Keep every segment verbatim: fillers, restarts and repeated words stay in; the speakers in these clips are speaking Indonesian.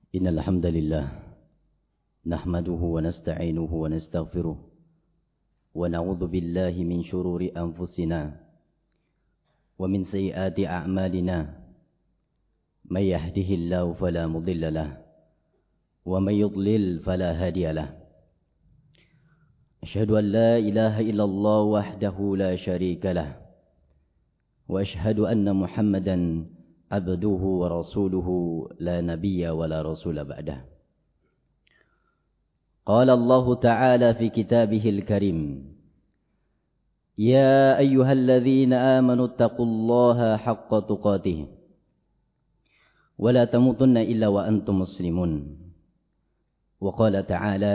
إن الحمد لله نحمده ونستعينه ونستغفره ونعوذ بالله من شرور أنفسنا ومن سيئات أعمالنا من يهده الله فلا مضل له ومن يضلل فلا هادي له أشهد أن لا إله إلا الله وحده لا شريك له وأشهد أن محمدا عبده ورسوله لا نبي ولا رسول بعده. قال الله تعالى في كتابه الكريم: يا أيها الذين آمنوا اتقوا الله حق تقاته ولا تموتن إلا وأنتم مسلمون. وقال تعالى: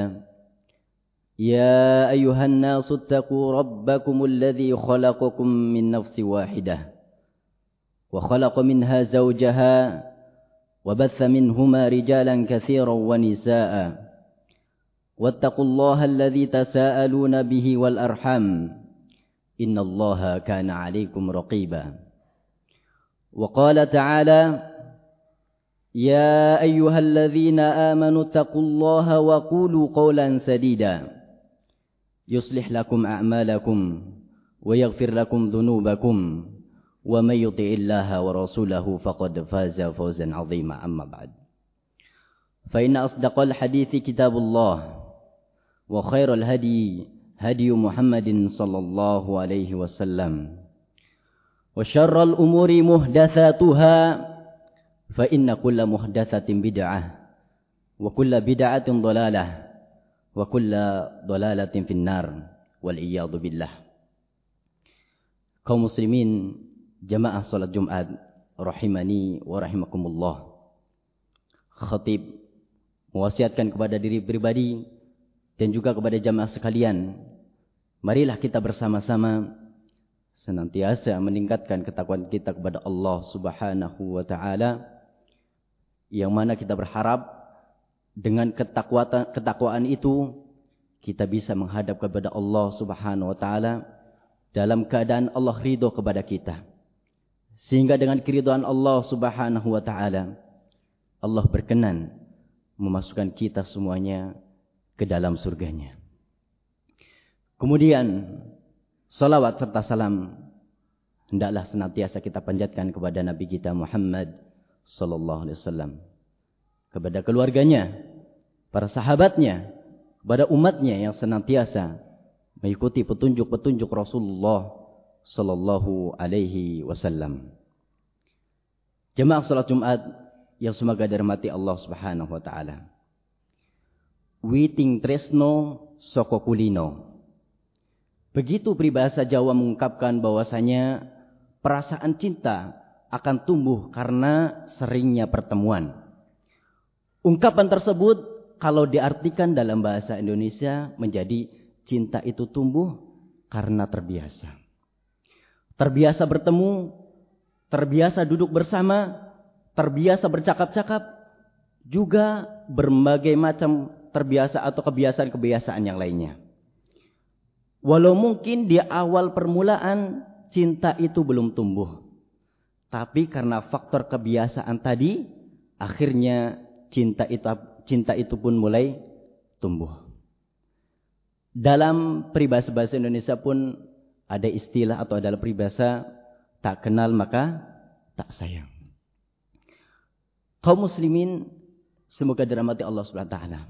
يا أيها الناس اتقوا ربكم الذي خلقكم من نفس واحدة وخلق منها زوجها وبث منهما رجالا كثيرا ونساء واتقوا الله الذي تساءلون به والأرحام إن الله كان عليكم رقيبا. وقال تعالى: يا أيها الذين آمنوا اتقوا الله وقولوا قولا سديدا يصلح لكم أعمالكم ويغفر لكم ذنوبكم ومن يطع الله ورسوله فقد فاز فوزا عظيما. أما بعد، فإن أصدق الحديث كتاب الله وخير الهدي هدي محمد صلى الله عليه وسلم وشر الأمور محدثاتها فإن كل محدثة بدعة وكل بدعة ضلالة وكل ضلالة في النار والعياذ بالله. Kaum muslimin jamaah salat Jumat rahimani wa rahimakumullah. Khatib mewasiatkan kepada diri pribadi dan juga kepada jamaah sekalian, marilah kita bersama-sama senantiasa meningkatkan ketakwaan kita kepada Allah Subhanahu wa taala, yang mana kita berharap dengan ketakwaan ketakwaan itu kita bisa menghadap kepada Allah Subhanahu wa taala dalam keadaan Allah ridho kepada kita, sehingga dengan keridhaan Allah Subhanahu wa taala Allah berkenan memasukkan kita semuanya ke dalam surganya. Kemudian salawat serta salam hendaklah senantiasa kita panjatkan kepada Nabi kita Muhammad sallallahu alaihi wasallam, kepada keluarganya, para sahabatnya, kepada umatnya yang senantiasa mengikuti petunjuk-petunjuk Rasulullah sallallahu alaihi wasallam. Jemaah salat Jumat yang semoga dirahmati Allah Subhanahu wa taala. Witing tresno soko kulino. Begitu peribahasa Jawa mengungkapkan bahwasanya perasaan cinta akan tumbuh karena seringnya pertemuan. Ungkapan tersebut kalau diartikan dalam bahasa Indonesia menjadi cinta itu tumbuh karena terbiasa. Terbiasa bertemu, terbiasa duduk bersama, terbiasa bercakap-cakap, juga berbagai macam terbiasa atau kebiasaan-kebiasaan yang lainnya. Walau mungkin di awal permulaan cinta itu belum tumbuh, tapi karena faktor kebiasaan tadi, akhirnya cinta itu cinta itu pun mulai tumbuh. Dalam peribahasa bahasa Indonesia pun ada istilah atau adalah peribahasa tak kenal maka tak sayang. Kaum muslimin semoga dirahmati Allah Subhanahu wa taala.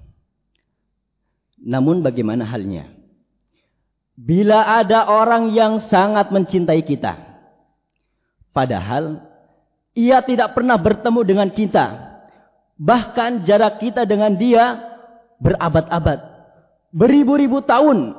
Namun bagaimana halnya bila ada orang yang sangat mencintai kita, padahal ia tidak pernah bertemu dengan kita, bahkan jarak kita dengan dia berabad-abad, beribu-ribu tahun,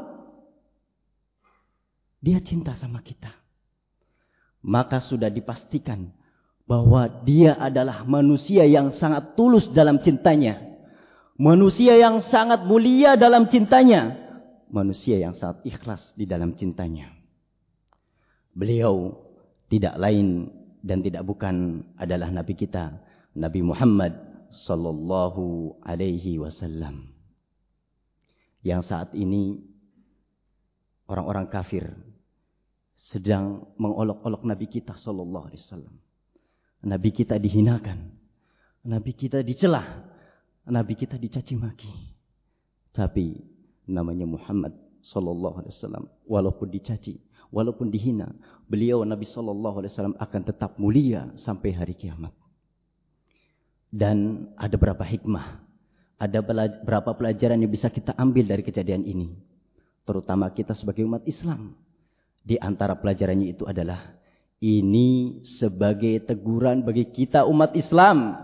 dia cinta sama kita, maka sudah dipastikan bahwa dia adalah manusia yang sangat tulus dalam cintanya, manusia yang sangat mulia dalam cintanya, manusia yang sangat ikhlas di dalam cintanya. Beliau tidak lain dan tidak bukan adalah Nabi kita, Nabi Muhammad sallallahu alaihi wasallam, yang saat ini orang-orang kafir sedang mengolok-olok Nabi kita sallallahu alaihi wasallam. Nabi kita dihinakan, Nabi kita dicela, Nabi kita dicaci maki. Tapi namanya Muhammad sallallahu alaihi wasallam, walaupun dicaci, walaupun dihina, beliau Nabi sallallahu alaihi wasallam akan tetap mulia sampai hari kiamat. Dan ada berapa hikmah, ada berapa pelajaran yang bisa kita ambil dari kejadian ini, terutama kita sebagai umat Islam. Di antara pelajarannya itu adalah ini sebagai teguran bagi kita umat Islam.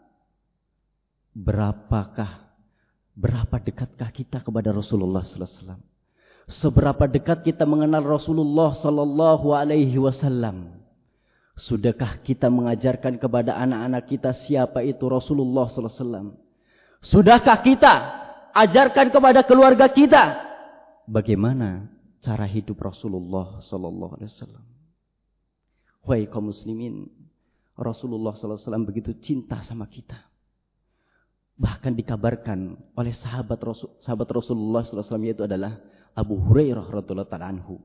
Berapakah, berapa dekatkah kita kepada Rasulullah sallallahu alaihi wasallam? Seberapa dekat kita mengenal Rasulullah sallallahu alaihi wasallam? Sudahkah kita mengajarkan kepada anak-anak kita siapa itu Rasulullah sallallahu alaihi wasallam? Sudahkah kita ajarkan kepada keluarga kita bagaimana cara hidup Rasulullah sallallahu alaihi wasallam? Wahai kaum muslimin, Rasulullah sallallahu alaihi wasallam begitu cinta sama kita. Bahkan dikabarkan oleh sahabat Rasul, sahabat Rasulullah sallallahu alaihi wasallam, yaitu adalah Abu Hurairah radhiyallahu ta'ala anhu.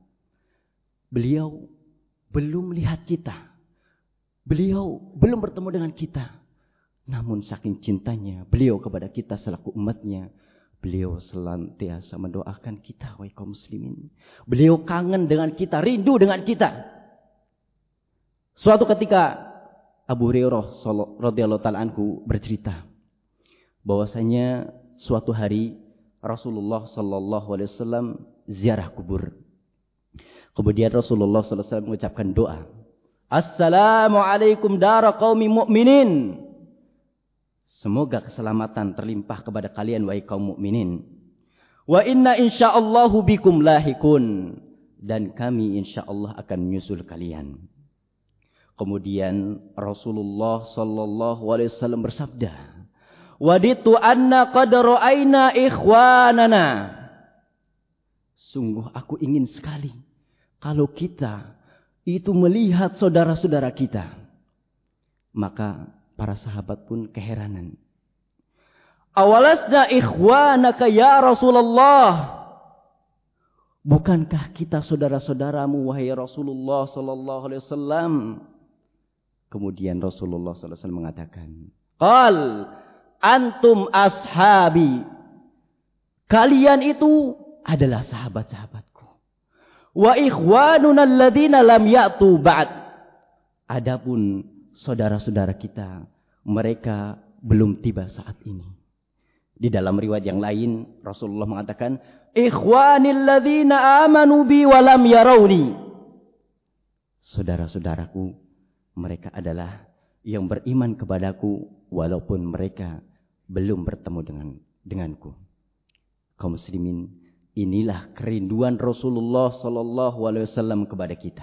Beliau belum melihat kita. Beliau belum bertemu dengan kita. Namun saking cintanya beliau kepada kita selaku umatnya, beliau senantiasa mendoakan kita, wahai kaum muslimin. Beliau kangen dengan kita, rindu dengan kita. Suatu ketika Abu Hurairah radhiyallahu ta'ala anhu bercerita bahwasanya suatu hari Rasulullah sallallahu alaihi wasallam ziarah kubur. Kemudian Rasulullah sallallahu alaihi wasallam mengucapkan doa, Assalamualaikum dara qaumi mu'minin. Semoga keselamatan terlimpah kepada kalian wahai kaum mukminin. Wa inna insyaallahu bikum lahikun. Dan kami insyaallah akan menyusul kalian. Kemudian Rasulullah sallallahu alaihi wasallam bersabda, Waditu anna qad ra'aina ikhwanana. Sungguh aku ingin sekali kalau kita itu melihat saudara-saudara kita. Maka para sahabat pun keheranan. Awalasna ikhwanaka ya Rasulullah. Bukankah kita saudara-saudaramu wahai Rasulullah sallallahu alaihi wasallam? Kemudian Rasulullah sallallahu alaihi wasallam mengatakan, Qal antum ashabi. Kalian itu adalah sahabat-sahabatku. Wa ikhwanuna alladhina lam ya'tu ba'd. Adapun saudara-saudara kita, mereka belum tiba saat ini. Di dalam riwayat yang lain Rasulullah mengatakan, ikhwanil ladzina amanu bi wa lam yarawni. Saudara-saudaraku, mereka adalah yang beriman kepadaku walaupun mereka belum bertemu dengan denganku. Kaum muslimin, inilah kerinduan Rasulullah sallallahu alaihi wasallam kepada kita.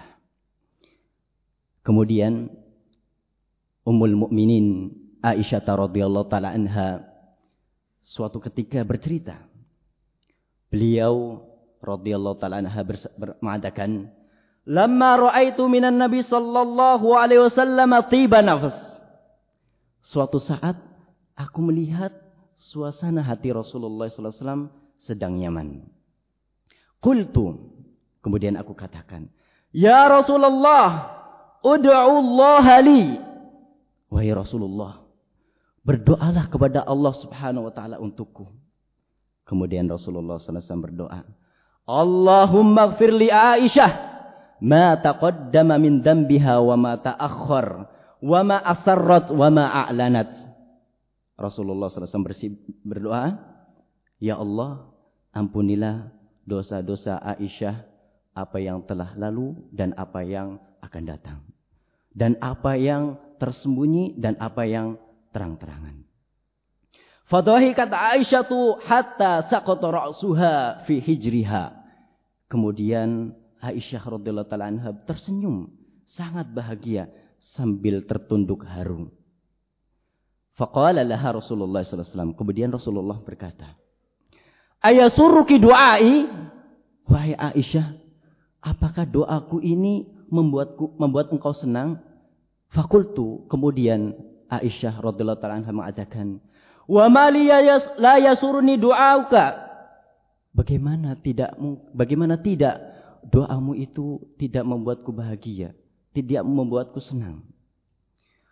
Kemudian Ummul Mukminin Aisyah radhiyallahu taala anha suatu ketika bercerita. Beliau radhiyallahu taala anha mengatakan, "Lamma ra'aitu minan Nabi sallallahu alaihi wasallam tiba nafs." Suatu saat aku melihat suasana hati Rasulullah sallallahu alaihi wasallam sedang nyaman. Qultu, kemudian aku katakan, "Ya Rasulullah, ud'u Allah li." Wahai Rasulullah, berdoalah kepada Allah Subhanahu wa taala untukku. Kemudian Rasulullah sallallahu alaihi wasallam berdoa, "Allahumma ighfir li Aisyah ma taqaddama min dhanbiha wa ma ta'akhkhar wa ma asarrat wa ma a'lanat." Rasulullah sallallahu alaihi wasallam berdoa, "Ya Allah, ampunilah dosa-dosa Aisyah, apa yang telah lalu dan apa yang akan datang, dan apa yang tersembunyi dan apa yang terang-terangan." Fadhahikat Aisyatu hatta saqata ra'suha fi hijriha. Kemudian Aisyah radhiyallahu taala anha tersenyum sangat bahagia sambil tertunduk haru. Faqala laha Rasulullah sallallahu alaihi wasallam. Kemudian Rasulullah berkata, "Ayasurruki du'ai?" Wahai Aisyah, apakah doaku ini membuatku membuat engkau senang? Fakultu, kemudian Aisyah radhiyallahu taala anha mengatakan, "Wa ma li la yasurni du'auka?" Bagaimana tidak bagaimana tidak doamu itu tidak membuatku bahagia, tidak membuatku senang.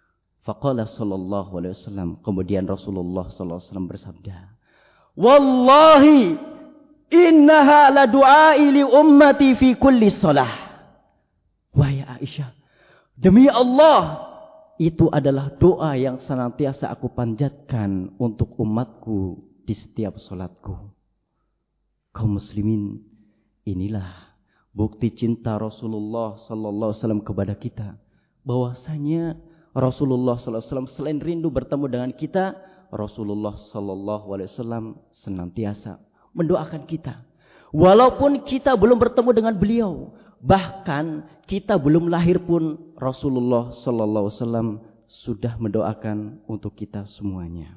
Faqala sallallahu alaihi wasallam, kemudian Rasulullah sallallahu alaihi wasallam bersabda, "Wallahi innaha la du'ai li ummati fi kulli shalah." Wahai Aisyah, demi Allah, itu adalah doa yang senantiasa aku panjatkan untuk umatku di setiap salatku. Kaum muslimin, inilah bukti cinta Rasulullah sallallahu alaihi wasallam kepada kita, bahwasanya Rasulullah sallallahu alaihi wasallam selain rindu bertemu dengan kita, Rasulullah sallallahu alaihi wasallam senantiasa mendoakan kita. Walaupun kita belum bertemu dengan beliau, bahkan kita belum lahir pun, Rasulullah sallallahu alaihi wasallam sudah mendoakan untuk kita semuanya.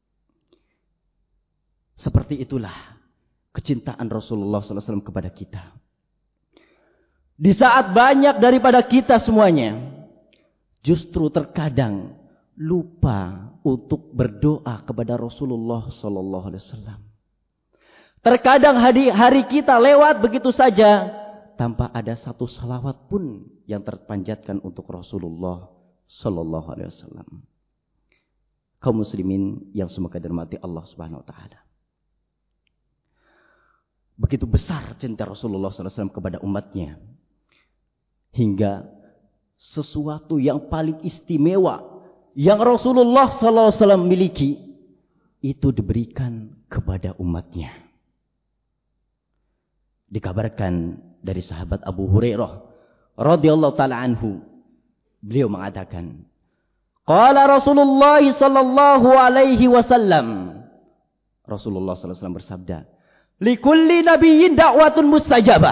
Seperti itulah kecintaan Rasulullah sallallahu alaihi wasallam kepada kita. Di saat banyak daripada kita semuanya justru terkadang lupa untuk berdoa kepada Rasulullah sallallahu alaihi wasallam. Terkadang hari, hari kita lewat begitu saja tanpa ada satu salawat pun yang terpanjatkan untuk Rasulullah sallallahu alaihi wasallam. Kaum muslimin yang semoga dirahmati Allah Subhanahu wa taala. Begitu besar cinta Rasulullah sallallahu alaihi wasallam kepada umatnya, hingga sesuatu yang paling istimewa yang Rasulullah sallallahu alaihi wasallam miliki itu diberikan kepada umatnya. Dikabarkan dari sahabat Abu Hurairah radhiyallahu taala anhu, beliau mengatakan, qala Rasulullah sallallahu alaihi wasallam, Rasulullah sallallahu alaihi wasallam bersabda, likulli nabiyyin da'watun mustajabah.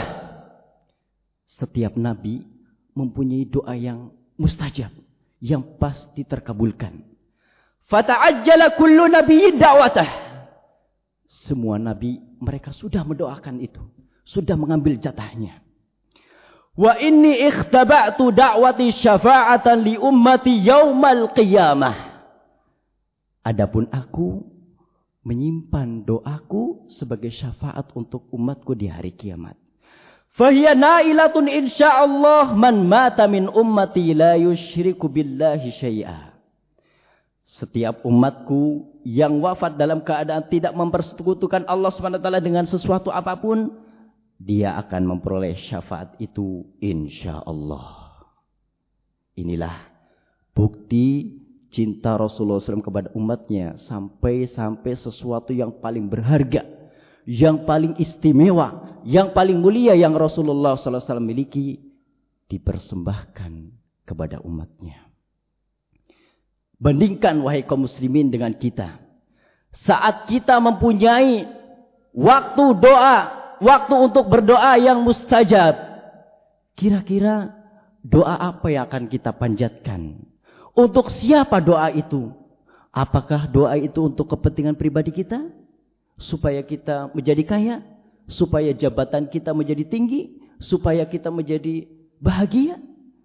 Setiap nabi mempunyai doa yang mustajab, yang pasti terkabulkan. Fata'ajjala kullu nabiyyin da'watah. Semua nabi mereka sudah mendoakan itu, sudah mengambil jatahnya. Wa inni ikhtaba'tu da'wati syafa'atan li ummati yaumal qiyamah. Adapun aku menyimpan doaku sebagai syafaat untuk umatku di hari kiamat. Fahiya nailatun insyaallah man mata min ummati la yusyriku billahi syai'a. Setiap umatku yang wafat dalam keadaan tidak mempersekutukan Allah Subhanahu wa taala dengan sesuatu apapun, dia akan memperoleh syafaat itu insyaallah. Inilah bukti cinta Rasulullah sallallahu alaihi wasallam kepada umatnya, sampai-sampai sesuatu yang paling berharga, yang paling istimewa, yang paling mulia yang Rasulullah sallallahu alaihi wasallam miliki dipersembahkan kepada umatnya. Bandingkan wahai kaum muslimin dengan kita. Saat kita mempunyai waktu doa, waktu untuk berdoa yang mustajab, kira-kira doa apa yang akan kita panjatkan? Untuk siapa doa itu? Apakah doa itu untuk kepentingan pribadi kita? Supaya kita menjadi kaya? Supaya jabatan kita menjadi tinggi? Supaya kita menjadi bahagia?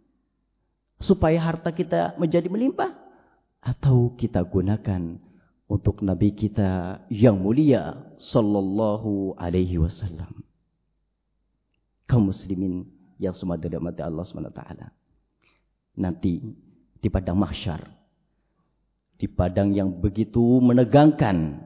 Supaya harta kita menjadi melimpah? Atau kita gunakan untuk Nabi kita yang mulia sallallahu alaihi wasallam? Kaum muslimin yang semua dirahmati Allah subhanahu wa taala. Nanti di padang mahsyar, di padang yang begitu menegangkan,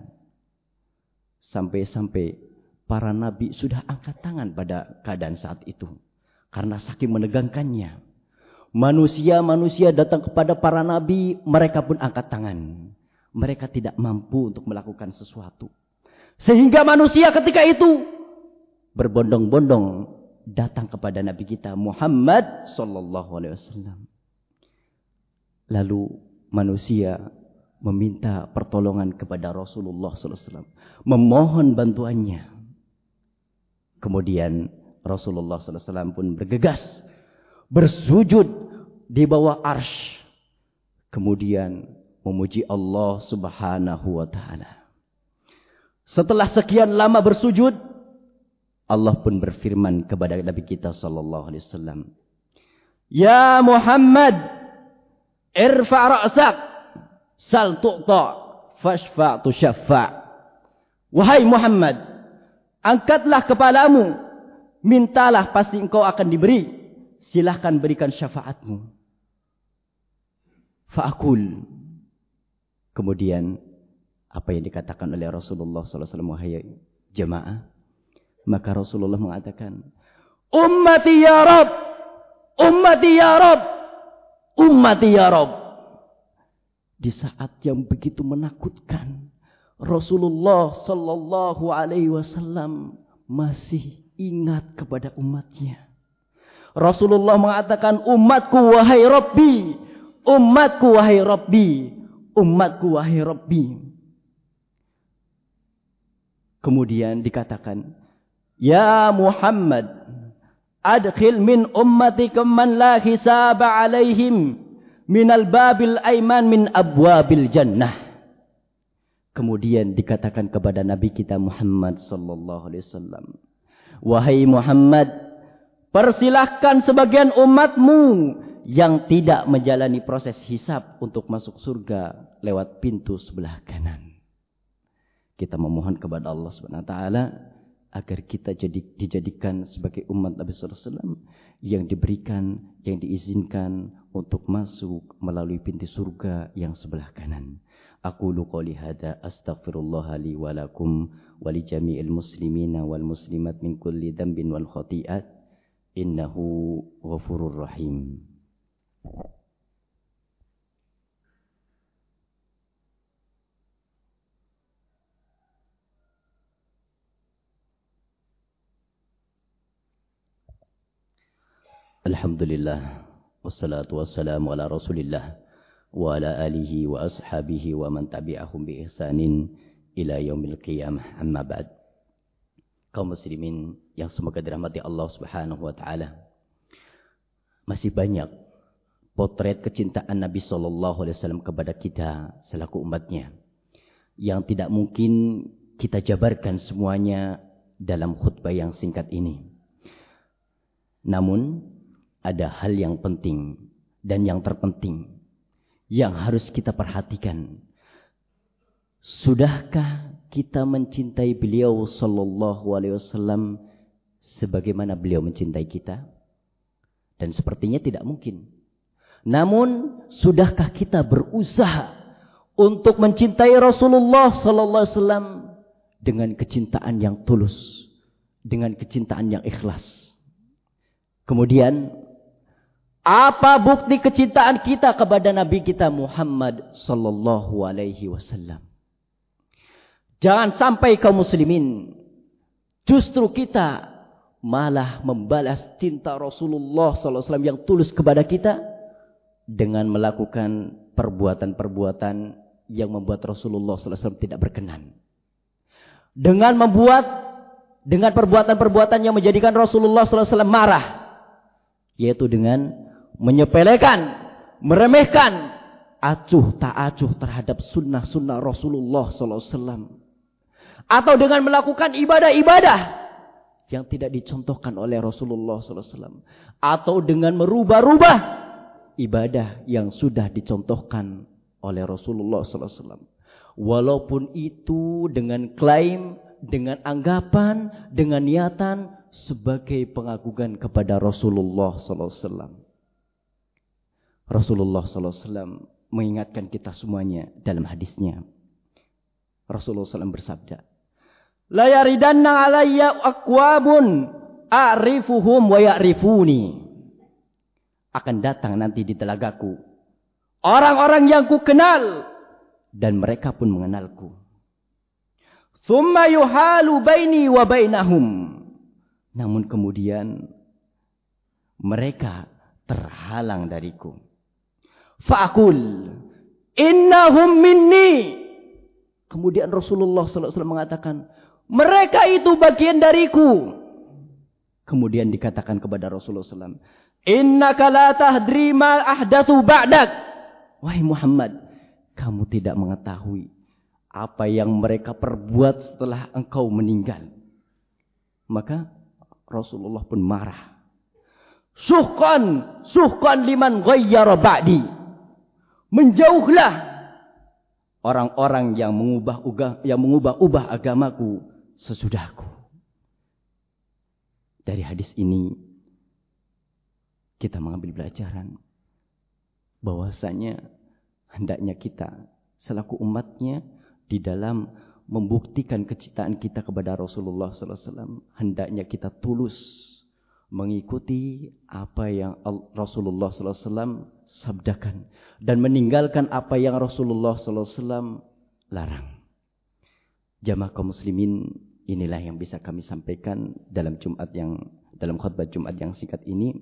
sampai-sampai para nabi sudah angkat tangan pada keadaan saat itu karena saking menegangkannya. Manusia-manusia datang kepada para nabi, mereka pun angkat tangan. Mereka tidak mampu untuk melakukan sesuatu. Sehingga manusia ketika itu berbondong-bondong datang kepada Nabi kita Muhammad sallallahu alaihi wasallam. Lalu manusia meminta pertolongan kepada Rasulullah sallallahu alaihi wasallam, memohon bantuannya. Kemudian Rasulullah sallallahu alaihi wasallam pun bergegas bersujud di bawah arsy, kemudian memuji Allah subhanahu wa ta'ala. Setelah sekian lama bersujud, Allah pun berfirman kepada Nabi kita sallallahu alaihi wasallam, ya Muhammad, irfa' ra'sak, sal tu'ta, fashfa' tushaffa'. Wahai Muhammad, angkatlah kepalamu, mintalah pasti engkau akan diberi, silahkan berikan syafaatmu. Fa'akul. Kemudian apa yang dikatakan oleh Rasulullah sallallahu alaihi wasallam, wahai jemaah, maka Rasulullah mengatakan, ummati ya Rabb, ummati ya Rabb, ummati ya Rabb. Di saat yang begitu menakutkan, Rasulullah sallallahu alaihi wasallam masih ingat kepada umatnya. Rasulullah mengatakan, umatku wahai Rabbi, umatku wahai Rabbi, umatku wahai Rabbi. Kemudian dikatakan, ya Muhammad, adkhil min ummatika man la hisaba alaihim minal babil aiman min abwabil jannah. Kemudian dikatakan kepada Nabi kita Muhammad sallallahu alaihi wasallam, wahai Muhammad, persilahkan sebagian umatmu yang tidak menjalani proses hisab untuk masuk surga lewat pintu sebelah kanan. Kita memohon kepada Allah Subhanahu wa taala agar kita jadi dijadikan sebagai umat Nabi sallallahu alaihi wasallam yang diberikan, yang diizinkan untuk masuk melalui pintu surga yang sebelah kanan. Aqulu qouli hadza astaghfirullah li wa lakum wa li jami'il muslimina wal muslimat min kulli dhanbin wal khati'at innahu ghafurur rahim. Alhamdulillah, wassalatu wassalamu ala rasulillah wa ala alihi wa ashabihi wa man tabi'ahum bi ihsanin ila yaumil qiyamah, amma ba'd. Kaum muslimin yang semoga dirahmati Allah Subhanahu wa taala, masih banyak potret kecintaan Nabi sallallahu alaihi wasallam kepada kita selaku umatnya yang tidak mungkin kita jabarkan semuanya dalam khutbah yang singkat ini. Namun ada hal yang penting dan yang terpenting yang harus kita perhatikan. Sudahkah kita mencintai beliau sallallahu alaihi wasallam sebagaimana beliau mencintai kita? Dan sepertinya tidak mungkin. Namun, sudahkah kita berusaha untuk mencintai Rasulullah sallallahu alaihi wasallam dengan kecintaan yang tulus, dengan kecintaan yang ikhlas? Kemudian, apa bukti kecintaan kita kepada Nabi kita Muhammad sallallahu alaihi wasallam? Jangan sampai kaum muslimin justru kita malah membalas cinta Rasulullah sallallahu alaihi wasallam yang tulus kepada kita dengan melakukan perbuatan-perbuatan yang membuat Rasulullah sallallahu alaihi wasallam tidak berkenan. Dengan membuat dengan perbuatan-perbuatan yang menjadikan Rasulullah sallallahu alaihi wasallam marah, yaitu dengan menyepelekan, meremehkan, acuh tak acuh terhadap sunnah-sunnah Rasulullah sallallahu alaihi wasallam, atau dengan melakukan ibadah-ibadah yang tidak dicontohkan oleh Rasulullah sallallahu alaihi wasallam, atau dengan merubah-rubah ibadah yang sudah dicontohkan oleh Rasulullah sallallahu alaihi wasallam, walaupun itu dengan klaim, dengan anggapan, dengan niatan sebagai pengagungan kepada Rasulullah sallallahu alaihi wasallam. Rasulullah sallallahu alaihi wasallam mengingatkan kita semuanya dalam hadisnya. Rasulullah sallallahu alaihi wasallam bersabda, la yaridanna alayya aqwamun a'rifuhum wa ya'rifuni. Akan datang nanti di telagaku orang-orang yang ku kenal dan mereka pun mengenalku. Thumma yuhalu baini wa bainahum. Namun kemudian mereka terhalang dariku. Fa'akul innahum minni. Kemudian Rasulullah sallallahu alaihi wasallam mengatakan, mereka itu bagian dariku. Kemudian dikatakan kepada Rasulullah sallallahu alaihi wasallam, innaka la tahdri ma ahdatsu ba'dak. Wahai Muhammad, kamu tidak mengetahui apa yang mereka perbuat setelah engkau meninggal. Maka Rasulullah pun marah. Suhqan, suhqan liman ghayyara ba'di. Menjauhlah orang-orang yang mengubah yang mengubah-ubah agamaku sesudahku. Dari hadis ini kita mengambil pelajaran bahwasanya hendaknya kita selaku umatnya di dalam membuktikan kecintaan kita kepada Rasulullah sallallahu alaihi wasallam, hendaknya kita tulus mengikuti apa yang Rasulullah sallallahu alaihi wasallam sabdakan dan meninggalkan apa yang Rasulullah sallallahu alaihi wasallam larang. Jamaah kaum muslimin, inilah yang bisa kami sampaikan dalam Jumat yang dalam khutbah Jumat yang singkat ini.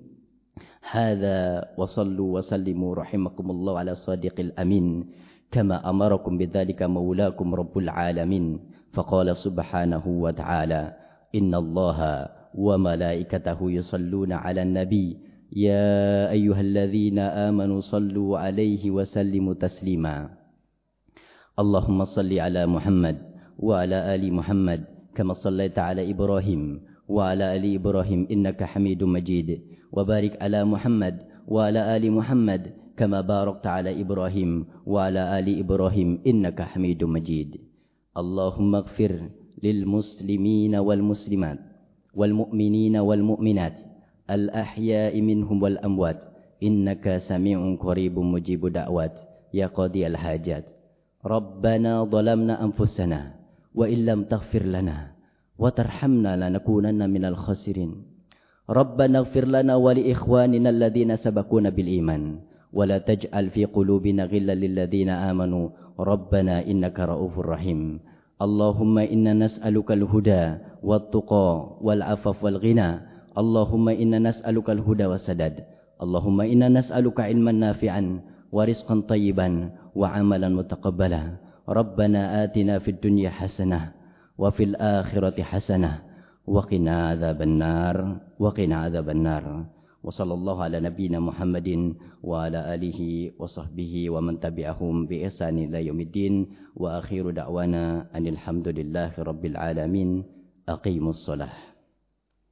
Hadza wa sallu wa sallimu rahimakumullah ala sadiqil amin kama amarakum bidzalika maulakum rabbul alamin. Faqala subhanahu wa ta'ala, innallaha wa malaikatahu yusalluna 'alan nabi ya ayyuhalladzina amanu sallu 'alaihi wa sallimu taslima. Allahumma salli 'ala Muhammad wa 'ala ali Muhammad kama sallaita 'ala Ibrahim wa 'ala ali Ibrahim innaka Hamidum Majid. Wa barik 'ala Muhammad wa 'ala ali Muhammad kama barakta 'ala Ibrahim wa 'ala ali Ibrahim innaka Hamidum Majid. Allahumma ighfir lil muslimina wal muslimat wal mu'minina wal mu'minat al ahya'i minhum wal amwat innaka sami'un qaribun mujibud da'wat ya qadiyal hajat. Rabbana dhalamna anfusana wa illam taghfir lana wa tarhamna lanakunanna minal khasirin. Rabbana ighfir lana wa li ikhwanina alladhina sabaquna bil iman wa la taj'al fi qulubina ghillan lil ladzina amanu rabbana innaka raufur rahim. Allahumma inna nas'aluka al-huda wat-tuqa wal-'afaf wal-ghina. Allahumma inna nas'aluka al-huda was-sadad. Allahumma inna nas'aluka 'ilman nafi'an wa rizqan thayyiban wa 'amalan mutaqabbala. Rabbana atina fid dunya hasanah wa fil akhirati hasanah wa qina adzaban nar wa qina adzaban nar. Wa sallallahu ala nabiyyina Muhammadin wa ala alihi wa sahbihi wa man tabi'ahum bi ihsan ila yaumiddin. Wa akhiru da'wana anil hamdulillahi rabbil alamin. Aqimus shalah.